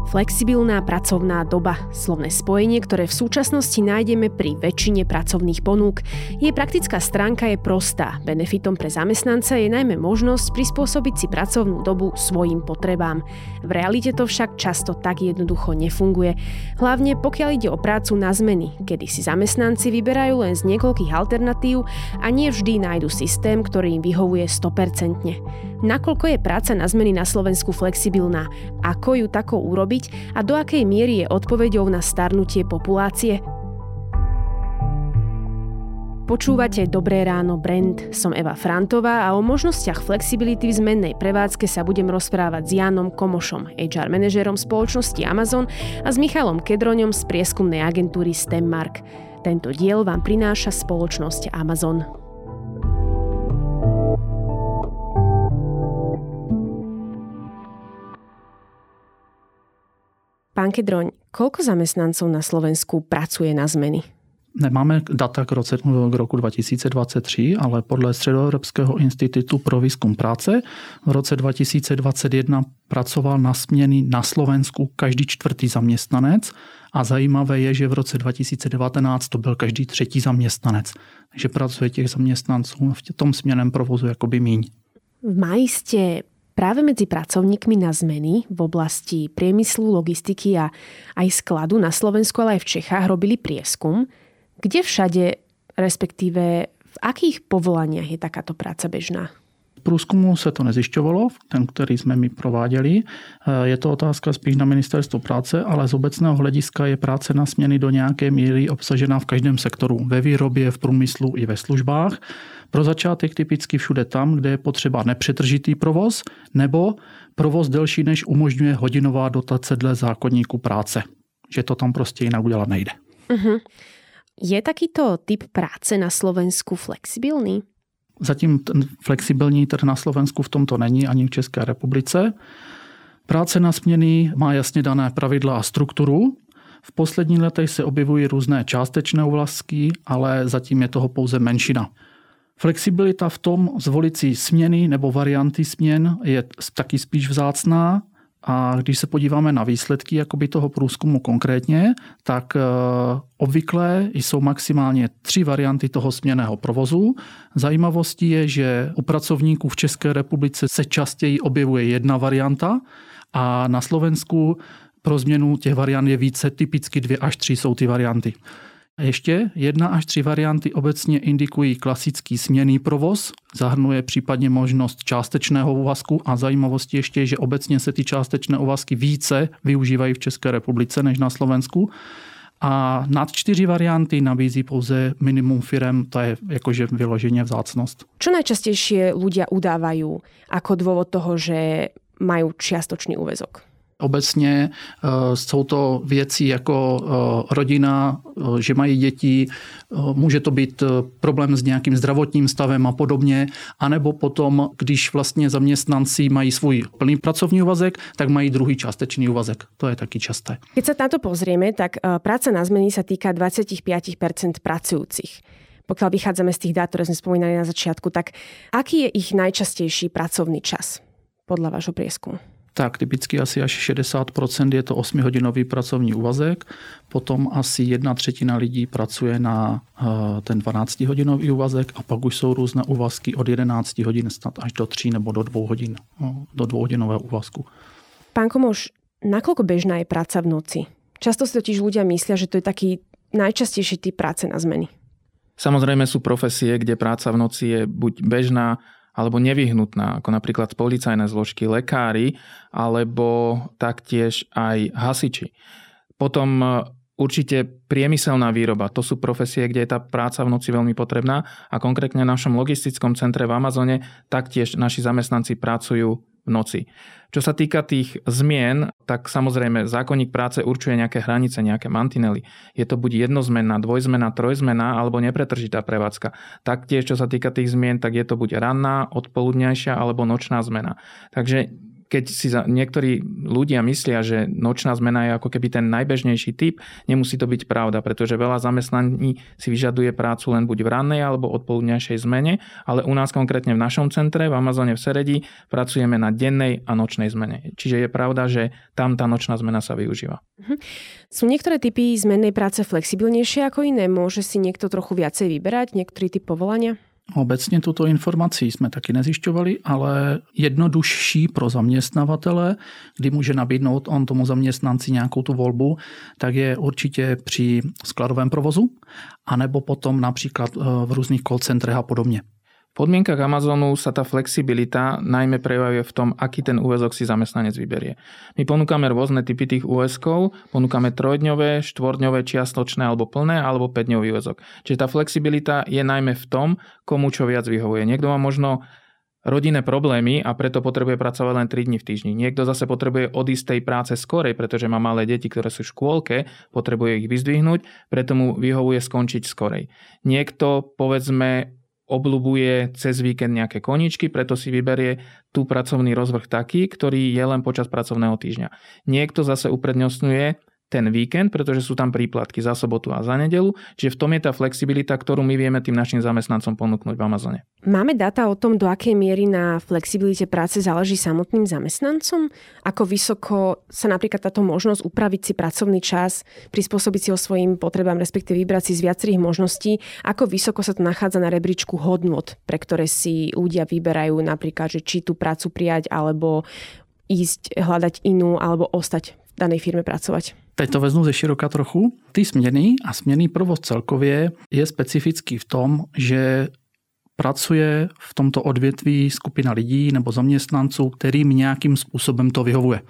Flexibilná pracovná doba, slovné spojenie, ktoré v súčasnosti nájdeme pri väčšine pracovných ponúk. Jej praktická stránka je prostá. Benefitom pre zamestnanca je najmä možnosť prispôsobiť si pracovnú dobu svojim potrebám. V realite to však často tak jednoducho nefunguje. Hlavne pokiaľ ide o prácu na zmeny, kedy si zamestnanci vyberajú len z niekoľkých alternatív a nie vždy nájdu systém, ktorý im vyhovuje 100%. Nakoľko je práca na zmeny na Slovensku flexibilná? Ako ju takou urobiť a do akej miery je odpoveďou na starnutie populácie? Počúvate Dobré ráno Brand, som Eva Frantová a o možnostiach flexibility v zmennej prevádzke sa budem rozprávať s Jánom Komošom, HR manažérom spoločnosti Amazon a s Michalom Kedroňom z prieskumnej agentúry Stemmark. Tento diel vám prináša spoločnosť Amazon. Pán Kedroň, koľko zamestnancov na Slovensku pracuje na zmeny? Nemáme data k roku 2023, ale podle Středoevropského institutu pro výzkum práce v roce 2021 pracoval na směny na Slovensku každý čtvrtý zaměstnanec a zajímavé je, že v roce 2019 to byl každý třetí zaměstnanec. Takže pracuje těch zaměstnanců v tom směnném provozu jakoby míň. V máji ste práve medzi pracovníkmi na zmeny v oblasti priemyslu, logistiky a aj skladu na Slovensku, ale aj v Čechách robili prieskum. Kde všade, respektíve v akých povolaniach je takáto práca bežná? V průzkumu se to nezjišťovalo, ten, který jsme my prováděli. Je to otázka spíš na ministerstvo práce, ale z obecného hlediska je práce na směny do nějaké míry obsažená v každém sektoru. Ve výrobě, v průmyslu i ve službách. Pro začátek typicky všude tam, kde je potřeba nepřetržitý provoz nebo provoz delší, než umožňuje hodinová dotace dle zákoníku práce. Že to tam prostě jinak udělat nejde. Uh-huh. Je takýto typ práce na Slovensku flexibilný? Zatím ten flexibilní trh na Slovensku v tomto není ani v České republice. Práce na směny má jasně dané pravidla a strukturu. V posledních letech se objevují různé částečné úvazky, ale zatím je toho pouze menšina. Flexibilita v tom zvolit si směny nebo varianty směn je taky spíš vzácná. A když se podíváme na výsledky jakoby toho průzkumu konkrétně, tak obvykle jsou maximálně 3 varianty toho směnného provozu. Zajímavostí je, že u pracovníků v České republice se častěji objevuje jedna varianta a na Slovensku pro změnu těch variant je více, typicky 2 až 3 jsou ty varianty. Ještě 1 až 3 varianty obecně indikují klasický směnný provoz, zahrnuje případně možnost částečného úvazku a zajímavostí ještě je, že obecně se ty částečné úvazky více využívají v České republice než na Slovensku. A nad 4 varianty nabízí pouze minimum firem, to je jakože vyloženě vzácnost. Čo najčastejšie ľudia udávajú ako dôvod toho, že majú čiastočný úväzok? Obecně jsou to věci jako rodina, že mají děti, může to být problém s nějakým zdravotním stavem a podobně, anebo potom, když vlastně zaměstnanci mají svůj plný pracovní úvazek, tak mají druhý částečný úvazek. To je taky časté. Keď sa na to pozrieme, tak práca na zmeny sa týka 25% pracujúcich. Pokiaľ vychádzame z tých dát, ktoré sme spomínali na začiatku, tak aký je ich najčastejší pracovný čas podľa vášho prieskumu? Tak typicky asi až 60% je to 8-hodinový pracovní úvazek, potom asi 1/3 lidí pracuje na ten 12-hodinový úvazek a pak už jsou různé úvazky od 11 hodin snad až do 3 nebo do 2 hodin, do 2-hodinového úvazku. Pán Komoš, nakoľko bežná je práca v noci? Často si totiž ľudia myslia, že to je taký najčastejší typ práce na zmeny. Samozrejme sú profesie, kde práca v noci je buď bežná, alebo nevyhnutná, ako napríklad policajné zložky, lekári, alebo taktiež aj hasiči. Potom určite priemyselná výroba, to sú profesie, kde je tá práca v noci veľmi potrebná a konkrétne v našom logistickom centre v Amazone taktiež naši zamestnanci pracujú v noci. Čo sa týka tých zmien, tak samozrejme zákonník práce určuje nejaké hranice, nejaké mantinely. Je to buď jednozmenná, dvojzmenná, trojzmenná alebo nepretržitá prevádzka. Taktiež, čo sa týka tých zmien, tak je to buď ranná, odpoludňajšia alebo nočná zmena. Takže keď si niektorí ľudia myslia, že nočná zmena je ako keby ten najbežnejší typ, nemusí to byť pravda, pretože veľa zamestnaní si vyžaduje prácu len buď v rannej alebo odpoludňajšej zmene, ale u nás konkrétne v našom centre v Amazone v Seredi pracujeme na dennej a nočnej zmene. Čiže je pravda, že tam tá nočná zmena sa využíva. Sú niektoré typy zmennej práce flexibilnejšie ako iné? Môže si niekto trochu viacej vyberať, niektorý typ povolania? Obecně tuto informaci jsme taky nezjišťovali, ale jednodušší pro zaměstnavatele, kdy může nabídnout on tomu zaměstnanci nějakou tu volbu, tak je určitě při skladovém provozu, anebo potom například v různých call centrech a podobně. V podmienkach Amazonu sa tá flexibilita najmä prejavuje v tom, aký ten úväzok si zamestnanec vyberie. My ponúkame rôzne typy tých úväzkov, ponúkame 3-dňové, 4-dňové, čiastočné alebo plné, alebo 5-dňový úväzok. Čiže tá flexibilita je najmä v tom, komu čo viac vyhovuje. Niekto má možno rodinné problémy a preto potrebuje pracovať len 3 dni v týždni. Niekto zase potrebuje odísť z tej práce skorej, pretože má malé deti, ktoré sú v škôlke, potrebuje ich vyzdvihnúť, preto mu vyhovuje skončiť skorej. Niekto, povedzme, obľubuje cez víkend nejaké koníčky, preto si vyberie tú pracovný rozvrh taký, ktorý je len počas pracovného týždňa. Niekto zase uprednostňuje ten víkend, pretože sú tam príplatky za sobotu a za nedeľu, čiže v tom je tá flexibilita, ktorú my vieme tým našim zamestnancom ponúknuť v Amazone. Máme dáta o tom, do akej miery na flexibilite práce záleží samotným zamestnancom? Ako vysoko sa napríklad táto možnosť upraviť si pracovný čas, prispôsobiť si ho svojim potrebám, respektíve vybrať si z viacerých možností, ako vysoko sa to nachádza na rebríčku hodnôt, pre ktoré si ľudia vyberajú napríklad, že či tú prácu prijať, alebo ísť hľadať inú, alebo ostať v danej firme pracovať. Teď to vezmu ze široka trochu. Ty směny a směnný provoz celkově je specifický v tom, že pracuje v tomto odvětví skupina lidí nebo zaměstnanců, kterým nějakým způsobem to vyhovuje.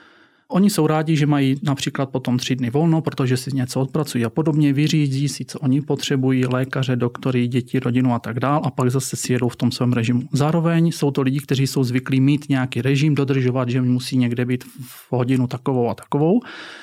Oni jsou rádi, že mají například potom 3 dny volno, protože si něco odpracují a podobně, vyřídí si, co oni potřebují, lékaře, doktory, děti, rodinu a tak dál, a pak zase si jedou v tom svém režimu. Zároveň jsou to lidi, kteří jsou zvyklí mít nějaký režim, dodržovat, že musí někde být v hodinu takovou a takovou.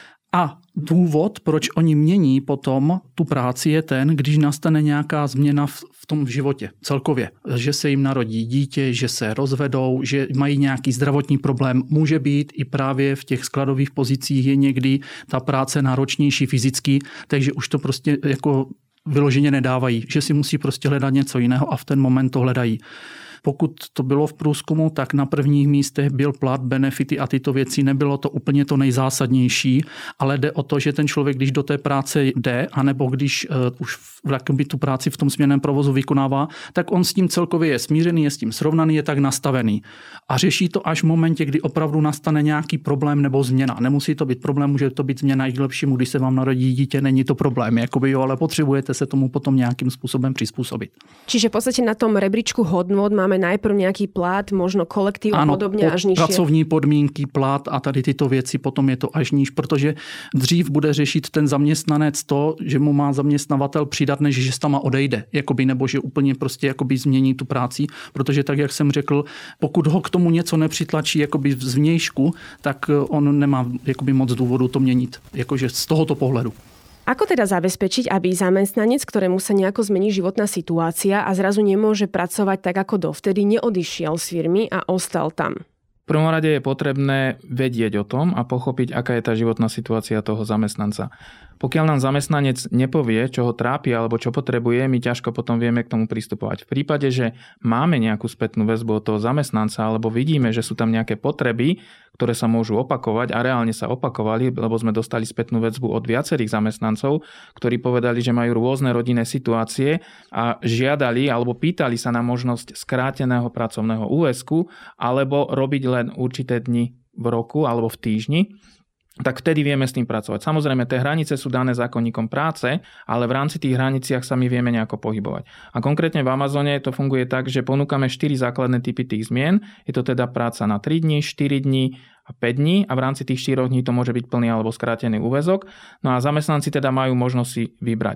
A důvod, proč oni mění potom tu práci, je ten, když nastane nějaká změna v tom životě celkově. Že se jim narodí dítě, že se rozvedou, že mají nějaký zdravotní problém. Může být i právě v těch skladových pozicích je někdy ta práce náročnější fyzicky, takže už to prostě jako vyloženě nedávají, že si musí prostě hledat něco jiného a v ten moment to hledají. Pokud to bylo v průzkumu, tak na prvních místech byl plat, benefity a tyto věci. Nebylo to úplně to nejzásadnější, ale jde o to, že ten člověk, když do té práce jde, anebo když už tu práci v tom směnném provozu vykonává, tak on s tím celkově je smířený, je s tím srovnaný, je tak nastavený. A řeší to až v momentě, kdy opravdu nastane nějaký problém nebo změna. Nemusí to být problém, může to být změna i k lepšímu, když se vám narodí dítě, není to problém, jakoby jo, ale potřebujete se tomu potom nějakým způsobem přizpůsobit. Čiže v podstate na tom rebríčku hodnôt máme najprv nejaký plat, možno kolektív a podobne až nižšie. Pracovní podmínky, plat a tady tyto věci, potom je to až níž, protože dřív bude řešit ten zaměstnanec to, že mu má zaměstnavatel přidat, než že tam odejde, jakoby, nebo že úplně prostě jakoby změní tu práci, protože tak, jak jsem řekl, pokud ho k tomu něco nepřitlačí jakoby zvnějšku, tak on nemá jakoby moc důvodu to měnit, jakože z tohoto pohledu. Ako teda zabezpečiť, aby zamestnanec, ktorému sa nejako zmení životná situácia a zrazu nemôže pracovať tak ako dovtedy, neodišiel z firmy a ostal tam? V prvom rade je potrebné vedieť o tom a pochopiť, aká je tá životná situácia toho zamestnanca. Pokiaľ nám zamestnanec nepovie, čo ho trápi alebo čo potrebuje, my ťažko potom vieme k tomu pristupovať. V prípade, že máme nejakú spätnú väzbu od toho zamestnanca alebo vidíme, že sú tam nejaké potreby, ktoré sa môžu opakovať a reálne sa opakovali, lebo sme dostali spätnú väzbu od viacerých zamestnancov, ktorí povedali, že majú rôzne rodinné situácie a žiadali alebo pýtali sa na možnosť skráteného pracovného úväzku alebo robiť len určité dni v roku alebo v týždni, tak vtedy vieme s tým pracovať. Samozrejme, tie hranice sú dané zákonníkom práce, ale v rámci tých hraniciach sa my vieme nejako pohybovať. A konkrétne v Amazone to funguje tak, že ponúkame 4 základné typy tých zmien. Je to teda práca na 3 dní, 4 dní a 5 dní a v rámci tých 4 dní to môže byť plný alebo skrátený úväzok. No a zamestnanci teda majú možnosť si vybrať.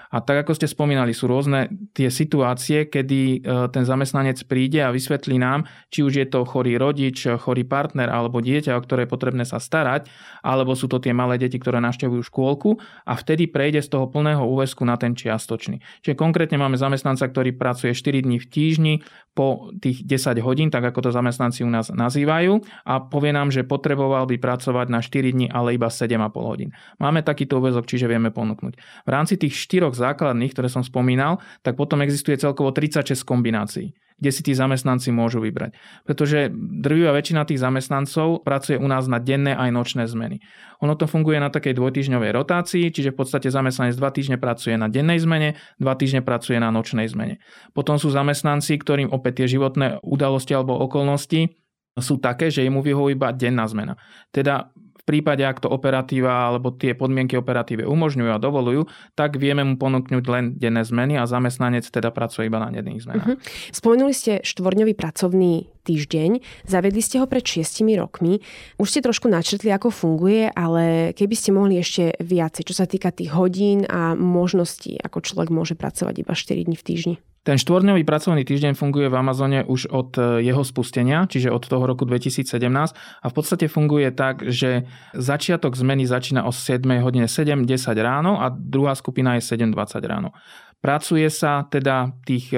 A tak, ako ste spomínali, sú rôzne tie situácie, kedy ten zamestnanec príde a vysvetlí nám, či už je to chorý rodič, chorý partner alebo dieťa, o ktoré je potrebné sa starať, alebo sú to tie malé deti, ktoré navštevujú škôlku a vtedy prejde z toho plného úväzku na ten čiastočný. Čiže konkrétne máme zamestnanca, ktorý pracuje 4 dní v týždni po tých 10 hodín, tak ako to zamestnanci u nás nazývajú, a povie nám, že potreboval by pracovať na 4 dní, ale iba 7,5 hodín. Máme takýto úväzok, čiže vieme ponúknuť. V rámci tých 4 základných, ktoré som spomínal, tak potom existuje celkovo 36 kombinácií, kde si tí zamestnanci môžu vybrať. Pretože drvivá väčšina tých zamestnancov pracuje u nás na denné aj nočné zmeny. Ono to funguje na takej dvojtýždňovej rotácii, čiže v podstate zamestnanec 2 týždne pracuje na dennej zmene, 2 týždne pracuje na nočnej zmene. Potom sú zamestnanci, ktorým opäť tie životné udalosti alebo okolnosti sú také, že jemu vyhovuje iba denná zmena. Teda v prípade, ak to operatíva alebo tie podmienky operatíve umožňujú a dovolujú, tak vieme mu ponúknuť len denné zmeny a zamestnanec teda pracuje iba na denných zmenách. Spomenuli ste 4-dňový pracovný týždeň, zavedli ste ho pred 6 rokmi. Už ste trošku načrtli, ako funguje, ale keby ste mohli ešte viacej, čo sa týka tých hodín a možností, ako človek môže pracovať iba 4 dní v týždni. Ten 4-dňový pracovný týždeň funguje v Amazone už od jeho spustenia, čiže od toho roku 2017 a v podstate funguje tak, že začiatok zmeny začína o 7 hodine 7:10 ráno a druhá skupina je 7:20 ráno. Pracuje sa teda tých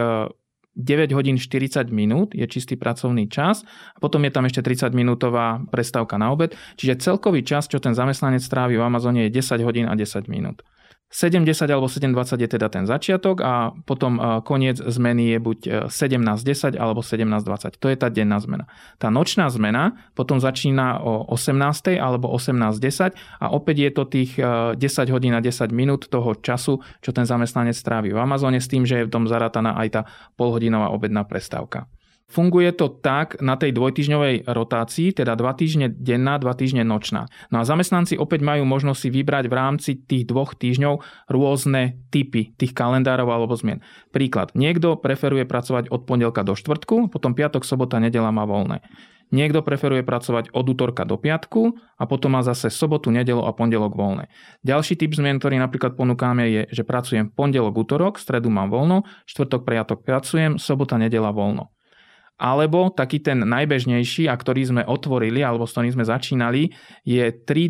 9 hodín 40 minút, je čistý pracovný čas a potom je tam ešte 30-minútová prestávka na obed, čiže celkový čas, čo ten zamestnanec trávi v Amazone, je 10 hodín a 10 minút. 7:10 alebo 7:20 je teda ten začiatok a potom koniec zmeny je buď 17:10 alebo 17:20. To je tá denná zmena. Tá nočná zmena potom začína o 18:00 alebo 18:10 a opäť je to tých 10 hodín a 10 minút toho času, čo ten zamestnanec trávi v Amazone s tým, že je v tom zarátaná aj tá polhodinová obedná prestávka. Funguje to tak na tej dvojtýždňovej rotácii, teda 2 týždne denná, 2 týždne nočná. No a zamestnanci opäť majú možnosť si vybrať v rámci tých 2 týždňov rôzne typy tých kalendárov alebo zmien. Príklad, niekto preferuje pracovať od pondelka do štvrtku, potom piatok, sobota, nedeľa má voľné. Niekto preferuje pracovať od útorka do piatku a potom má zase sobotu, nedeľu a pondelok voľné. Ďalší typ zmien, ktorý napríklad ponúkame, je, že pracujem pondelok, útorok, stredu mám voľno, štvrtok, piatok pracujem, sobota, nedeľa voľno. Alebo taký ten najbežnejší, a ktorý sme otvorili, alebo s ktorým sme začínali, je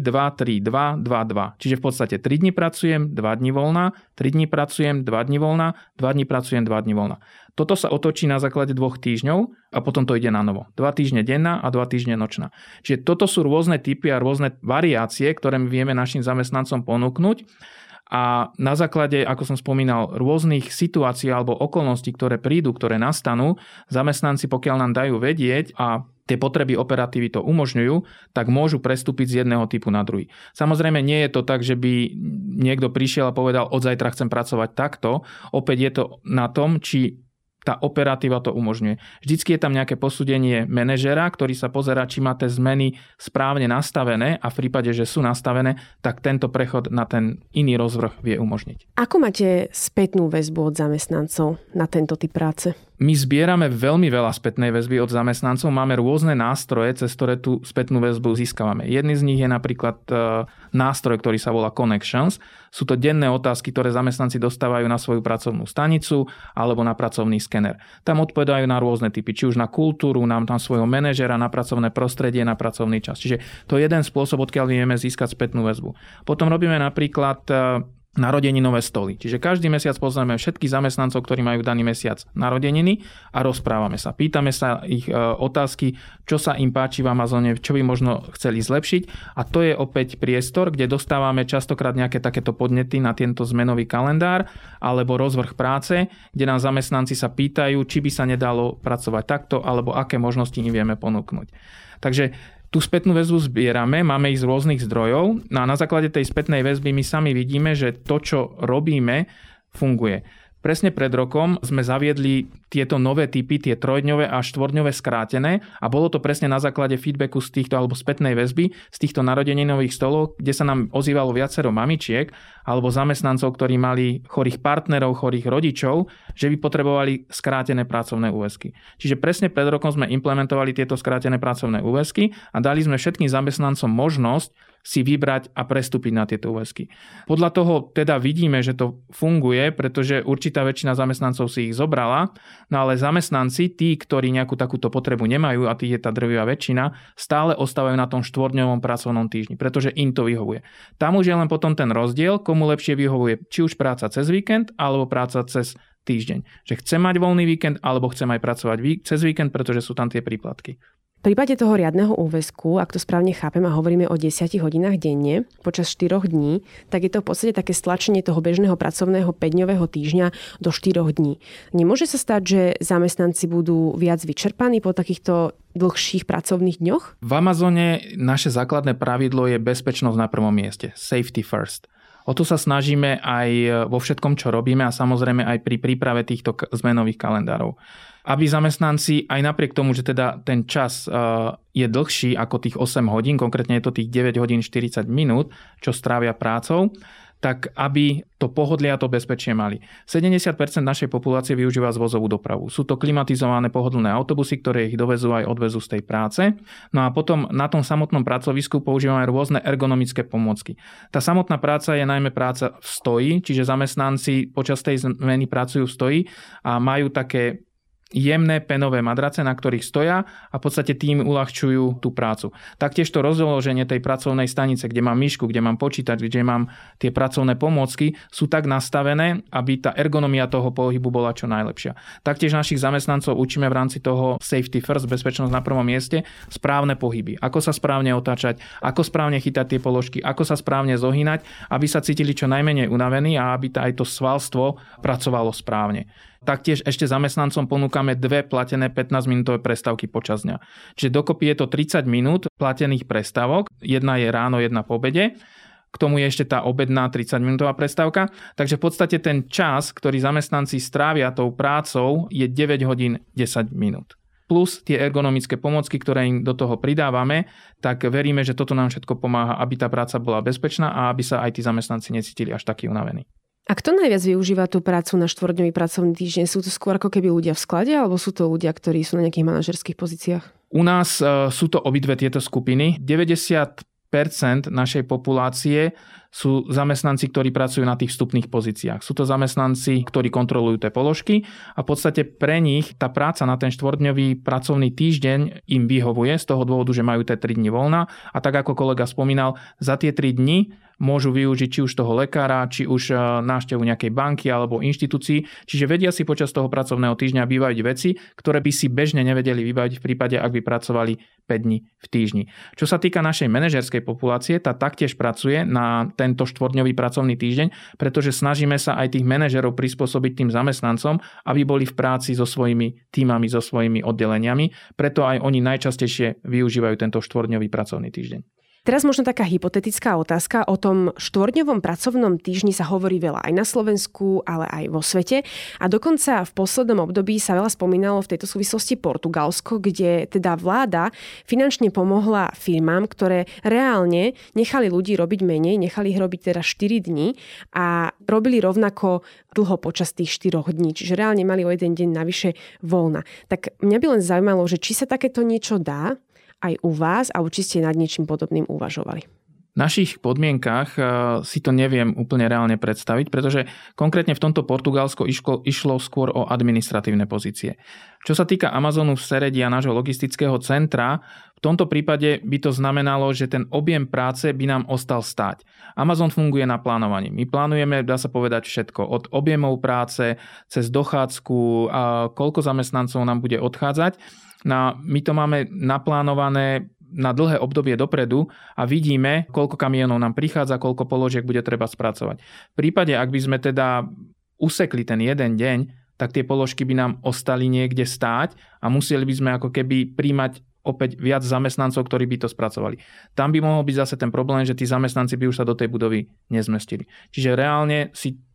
3-2-3-2-2-2. Čiže v podstate 3 dní pracujem, 2 dní voľná, 3 dní pracujem, 2 dní voľná, 2 dní pracujem, 2 dní voľná. Toto sa otočí na základe 2 týždňov a potom to ide na novo. 2 týždne denná a 2 týždne nočná. Čiže toto sú rôzne typy a rôzne variácie, ktoré my vieme našim zamestnancom ponúknuť. A na základe, ako som spomínal, rôznych situácií alebo okolností, ktoré prídu, ktoré nastanú, zamestnanci, pokiaľ nám dajú vedieť a tie potreby operatívy to umožňujú, tak môžu prestúpiť z jedného typu na druhý. Samozrejme, nie je to tak, že by niekto prišiel a povedal, od zajtra chcem pracovať takto. Opäť je to na tom, či tá operatíva to umožňuje. Vždycky je tam nejaké posúdenie manažera, ktorý sa pozerá, či má tie zmeny správne nastavené a v prípade, že sú nastavené, tak tento prechod na ten iný rozvrh vie umožniť. Ako máte spätnú väzbu od zamestnancov na tento typ práce? My zbierame veľmi veľa spätnej väzby od zamestnancov. Máme rôzne nástroje, cez ktoré tú spätnú väzbu získavame. Jedný z nich je napríklad nástroj, ktorý sa volá Connections. Sú to denné otázky, ktoré zamestnanci dostávajú na svoju pracovnú stanicu alebo na pracovný skener. Tam odpovedajú na rôzne typy, či už na kultúru, na svojho manažera, na pracovné prostredie, na pracovný čas. Čiže to je jeden spôsob, odkiaľ vieme získať spätnú väzbu. Potom robíme napríklad narodeninové stoly. Čiže každý mesiac pozrieme všetkých zamestnancov, ktorí majú daný mesiac narodeniny a rozprávame sa. Pýtame sa ich otázky, čo sa im páči v Amazone, čo by možno chceli zlepšiť. A to je opäť priestor, kde dostávame častokrát nejaké takéto podnety na tento zmenový kalendár alebo rozvrh práce, kde nám zamestnanci sa pýtajú, či by sa nedalo pracovať takto alebo aké možnosti im vieme ponúknuť. Takže tú spätnú väzbu zbierame, máme ich z rôznych zdrojov a na základe tej spätnej väzby my sami vidíme, že to, čo robíme, funguje. Presne pred rokom sme zaviedli tieto nové typy, tie 3-dňové a 4-dňové skrátené a bolo to presne na základe feedbacku z týchto alebo spätnej väzby z týchto narodeninových stolov, kde sa nám ozývalo viacero mamičiek alebo zamestnancov, ktorí mali chorých partnerov, chorých rodičov, že by potrebovali skrátené pracovné úväzky. Čiže presne pred rokom sme implementovali tieto skrátené pracovné úväzky a dali sme všetkým zamestnancom možnosť si vybrať a prestúpiť na tieto úväzky. Podľa toho teda vidíme, že to funguje, pretože určitá väčšina zamestnancov si ich zobrala, no ale zamestnanci, tí, ktorí nejakú takúto potrebu nemajú, a tých je tá drvivá väčšina, stále ostávajú na tom 4-dňovom pracovnom týždni, pretože im to vyhovuje. Tam už je len potom ten rozdiel, komu lepšie vyhovuje, či už práca cez víkend, alebo práca cez týždeň. Že chce mať voľný víkend, alebo chce aj pracovať cez víkend, pretože sú tam tie príplatky. V prípade toho riadneho úväzku, ak to správne chápem a hovoríme o 10 hodinách denne počas 4 dní, tak je to v podstate také stlačenie toho bežného pracovného 5-dňového týždňa do 4 dní. Nemôže sa stať, že zamestnanci budú viac vyčerpaní po takýchto dlhších pracovných dňoch? V Amazone naše základné pravidlo je bezpečnosť na prvom mieste. Safety first. O to sa snažíme aj vo všetkom, čo robíme a samozrejme aj pri príprave týchto zmenových kalendárov. Aby zamestnanci aj napriek tomu, že teda ten čas je dlhší ako tých 8 hodín, konkrétne je to tých 9 hodín 40 minút, čo strávia prácou, tak aby to pohodlie a to bezpečie mali. 70% našej populácie využíva zvozovú dopravu. Sú to klimatizované pohodlné autobusy, ktoré ich dovezú aj odvezú z tej práce. No a potom na tom samotnom pracovisku používame rôzne ergonomické pomôcky. Tá samotná práca je najmä práca v stoji, čiže zamestnanci počas tej zmeny pracujú v stoji a majú také jemné penové madrace, na ktorých stoja a v podstate tým uľahčujú tú prácu. Taktiež to rozloženie tej pracovnej stanice, kde mám myšku, kde mám počítač, kde mám tie pracovné pomôcky, sú tak nastavené, aby tá ergonomia toho pohybu bola čo najlepšia. Taktiež našich zamestnancov učíme v rámci toho safety first, bezpečnosť na prvom mieste, správne pohyby. Ako sa správne otáčať, ako správne chytať tie položky, ako sa správne zohynať, aby sa cítili čo najmenej unavení a aby aj to svalstvo pracovalo správne. Taktiež ešte zamestnancom ponúkame 2 platené 15-minútové prestávky počas dňa. Čiže dokopy je to 30 minút platených prestávok. Jedna je ráno, jedna po obede. K tomu je ešte tá obedná 30-minútová prestávka. Takže v podstate ten čas, ktorý zamestnanci strávia tou prácou, je 9 hodín 10 minút. Plus tie ergonomické pomôcky, ktoré im do toho pridávame, tak veríme, že toto nám všetko pomáha, aby tá práca bola bezpečná a aby sa aj tí zamestnanci necítili až takí unavení. A kto najviac využíva tú prácu na 4-dňový pracovný týždeň? Sú to skôr ako keby ľudia v sklade, alebo sú to ľudia, ktorí sú na nejakých manažerských pozíciách? U nás sú to obidve tieto skupiny. 90% našej populácie sú zamestnanci, ktorí pracujú na tých vstupných pozíciách. Sú to zamestnanci, ktorí kontrolujú tie položky a v podstate pre nich tá práca na ten 4-dňový pracovný týždeň im vyhovuje z toho dôvodu, že majú tie 3 dni voľna a tak ako kolega spomínal, za tie 3 dni môžu využiť či už toho lekára, či už návštevu nejakej banky alebo inštitúcii. Čiže vedia si počas toho pracovného týždňa vybaviť veci, ktoré by si bežne nevedeli vybaviť v prípade, ak by pracovali 5 dní v týždni. Čo sa týka našej manažerskej populácie, tá taktiež pracuje na tento 4-dňový pracovný týždeň, pretože snažíme sa aj tých manažerov prispôsobiť tým zamestnancom, aby boli v práci so svojimi tímami, so svojimi oddeleniami. Preto aj oni najčastejšie využívajú tento 4-dňový pracovný týždeň. Teraz možno taká hypotetická otázka. O tom 4-dňovom pracovnom týždni sa hovorí veľa aj na Slovensku, ale aj vo svete. A dokonca v poslednom období sa veľa spomínalo v tejto súvislosti Portugalsko, kde teda vláda finančne pomohla firmám, ktoré reálne nechali ľudí robiť menej, nechali ich robiť teda 4 dní a robili rovnako dlho počas tých 4 dní. Čiže reálne mali o jeden deň navyše voľna. Tak mňa by len zaujímalo, že či sa takéto niečo dá aj u vás, alebo či ste nad niečím podobným uvažovali? V našich podmienkach si to neviem úplne reálne predstaviť, pretože konkrétne v tomto Portugalsko išlo skôr o administratívne pozície. Čo sa týka Amazonu v Seredi a nášho logistického centra, v tomto prípade by to znamenalo, že ten objem práce by nám ostal stáť. Amazon funguje na plánovaní. My plánujeme, dá sa povedať, všetko. Od objemov práce, cez dochádzku, koľko zamestnancov nám bude odchádzať. My to máme naplánované na dlhé obdobie dopredu a vidíme, koľko kamionov nám prichádza, koľko položiek bude treba spracovať. V prípade, ak by sme teda usekli ten jeden deň, tak tie položky by nám ostali niekde stáť a museli by sme ako keby príjmať opäť viac zamestnancov, ktorí by to spracovali. Tam by mohol byť zase ten problém, že tí zamestnanci by už sa do tej budovy nezmestili. Čiže reálne si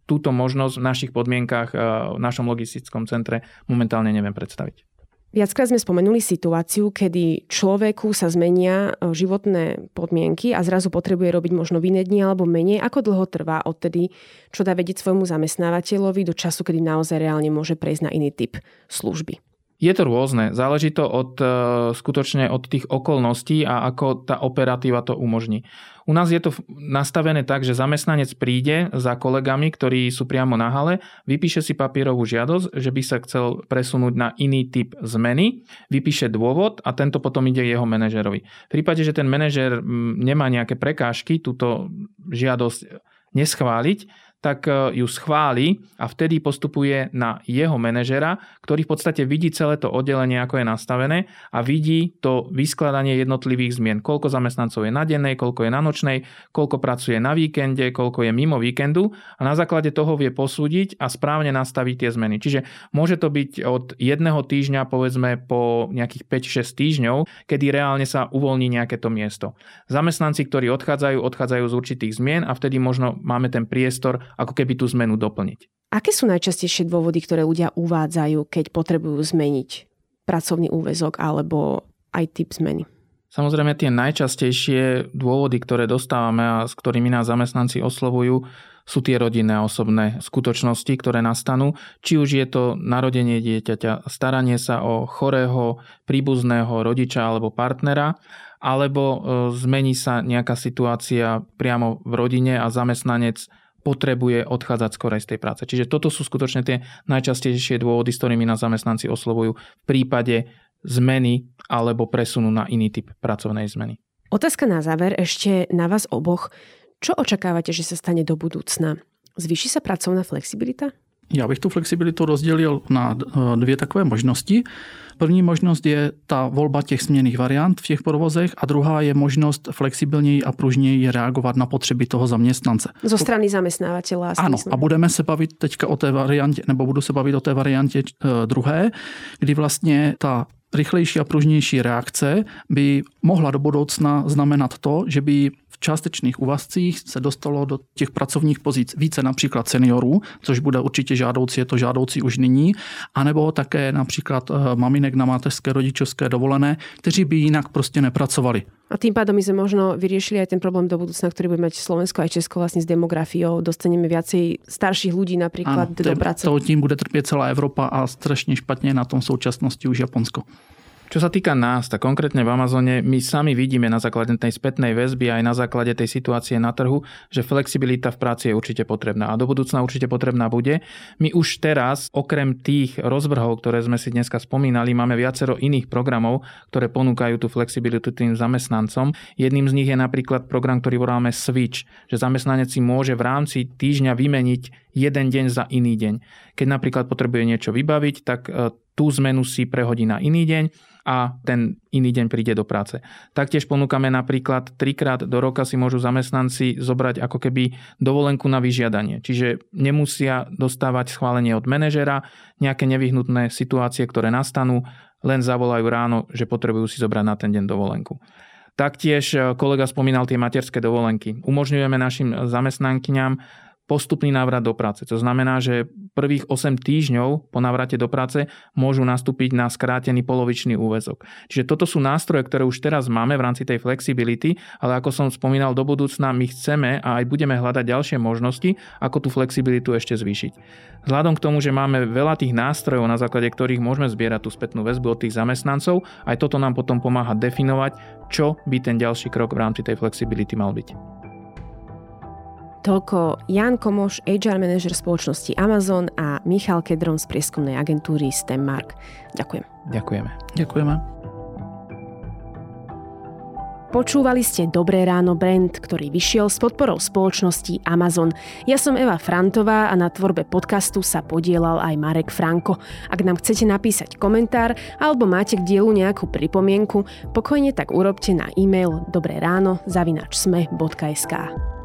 túto možnosť v našich podmienkach, v našom logistickom centre momentálne neviem predstaviť. Viackrát sme spomenuli situáciu, kedy človeku sa zmenia životné podmienky a zrazu potrebuje robiť možno v iné dni alebo menej. Ako dlho trvá odtedy, čo dá vedieť svojmu zamestnávateľovi do času, kedy naozaj reálne môže prejsť na iný typ služby? Je to rôzne. Záleží to skutočne od tých okolností a ako tá operatíva to umožní. U nás je to nastavené tak, že zamestnanec príde za kolegami, ktorí sú priamo na hale, vypíše si papierovú žiadosť, že by sa chcel presunúť na iný typ zmeny, vypíše dôvod a tento potom ide jeho manažerovi. V prípade, že ten manažer nemá nejaké prekážky túto žiadosť neschváliť, tak ju schváli a vtedy postupuje na jeho manažera, ktorý v podstate vidí celé to oddelenie, ako je nastavené a vidí to vyskladanie jednotlivých zmien. Koľko zamestnancov je na dennej, koľko je na nočnej, koľko pracuje na víkende, koľko je mimo víkendu a na základe toho vie posúdiť a správne nastaviť tie zmeny. Čiže môže to byť od jedného týždňa povedzme po nejakých 5-6 týždňov, kedy reálne sa uvoľní nejaké to miesto. Zamestnanci, ktorí odchádzajú z určitých zmien a vtedy možno máme ten priestor ako keby tú zmenu doplniť. Aké sú najčastejšie dôvody, ktoré ľudia uvádzajú, keď potrebujú zmeniť pracovný úväzok alebo aj typ zmeny? Samozrejme tie najčastejšie dôvody, ktoré dostávame a s ktorými nás zamestnanci oslovujú, sú tie rodinné a osobné skutočnosti, ktoré nastanú. Či už je to narodenie dieťaťa, staranie sa o chorého, príbuzného rodiča alebo partnera, alebo zmení sa nejaká situácia priamo v rodine a zamestnanec potrebuje odchádzať skorej z tej práce. Čiže toto sú skutočne tie najčastejšie dôvody, s ktorými nás zamestnanci oslovujú v prípade zmeny alebo presunu na iný typ pracovnej zmeny. Otázka na záver ešte na vás oboch. Čo očakávate, že sa stane do budúcna? Zvýši sa pracovná flexibilita? Já bych tu flexibilitu rozdělil na dvě takové možnosti. První možnost je ta volba těch směnných variant v těch provozech a druhá je možnost flexibilněji a pružněji reagovat na potřeby toho zaměstnance. Zo strany zamestnávateľa. Ano, a budeme se bavit teďka o té variantě, nebo budu se bavit o té variantě druhé, kdy vlastně ta rychlejší a pružnější reakce by mohla do budoucna znamenat to, že by v částečných úvazcích se dostalo do těch pracovních pozic více například seniorů, což bude určitě žádoucí, je to žádoucí už nyní, anebo také například maminek na mateřské rodičovské dovolené, kteří by jinak prostě nepracovali. A tým pádom my sme možno vyriešili aj ten problém do budúcna, ktorý bude mať Slovensko aj Česko vlastne s demografiou. Dostaneme viacej starších ľudí napríklad do práce. Tím bude trpieť celá Evropa a strašne špatne na tom v súčasnosti už Japonsko. Čo sa týka nás, tak konkrétne v Amazone, my sami vidíme na základe tej spätnej väzby aj na základe tej situácie na trhu, že flexibilita v práci je určite potrebná a do budúcna určite potrebná bude. My už teraz, okrem tých rozvrhov, ktoré sme si dneska spomínali, máme viacero iných programov, ktoré ponúkajú tú flexibilitu tým zamestnancom. Jedným z nich je napríklad program, ktorý voláme Switch, že zamestnanec si môže v rámci týždňa vymeniť jeden deň za iný deň. Keď napríklad potrebuje niečo vybaviť, tak tú zmenu si prehodí na iný deň a ten iný deň príde do práce. Taktiež ponúkame napríklad 3-krát do roka si môžu zamestnanci zobrať ako keby dovolenku na vyžiadanie. Čiže nemusia dostávať schválenie od manažera, nejaké nevyhnutné situácie, ktoré nastanú, len zavolajú ráno, že potrebujú si zobrať na ten deň dovolenku. Taktiež kolega spomínal tie materské dovolenky. Umožňujeme našim zamestnankyňam postupný návrat do práce. To znamená, že prvých 8 týždňov po návrate do práce môžu nastúpiť na skrátený polovičný úväzok. Čiže toto sú nástroje, ktoré už teraz máme v rámci tej flexibility, ale ako som spomínal, do budúcna my chceme a aj budeme hľadať ďalšie možnosti, ako tú flexibilitu ešte zvýšiť. Vzhľadom k tomu, že máme veľa tých nástrojov, na základe ktorých môžeme zbierať tú spätnú väzbu od tých zamestnancov, aj toto nám potom pomáha definovať, čo by ten ďalší krok v rámci tej flexibility mal byť. Toľko Ján Komoš, HR manažer spoločnosti Amazon a Michal Kedron z prieskumnej agentúry STEMmark. Ďakujem. Ďakujeme. Ďakujeme. Počúvali ste Dobré ráno brand, ktorý vyšiel s podporou spoločnosti Amazon. Ja som Eva Frantová a na tvorbe podcastu sa podielal aj Marek Franko. Ak nám chcete napísať komentár alebo máte k dielu nejakú pripomienku, pokojne tak urobte na e-mail dobrerano@sme.sk.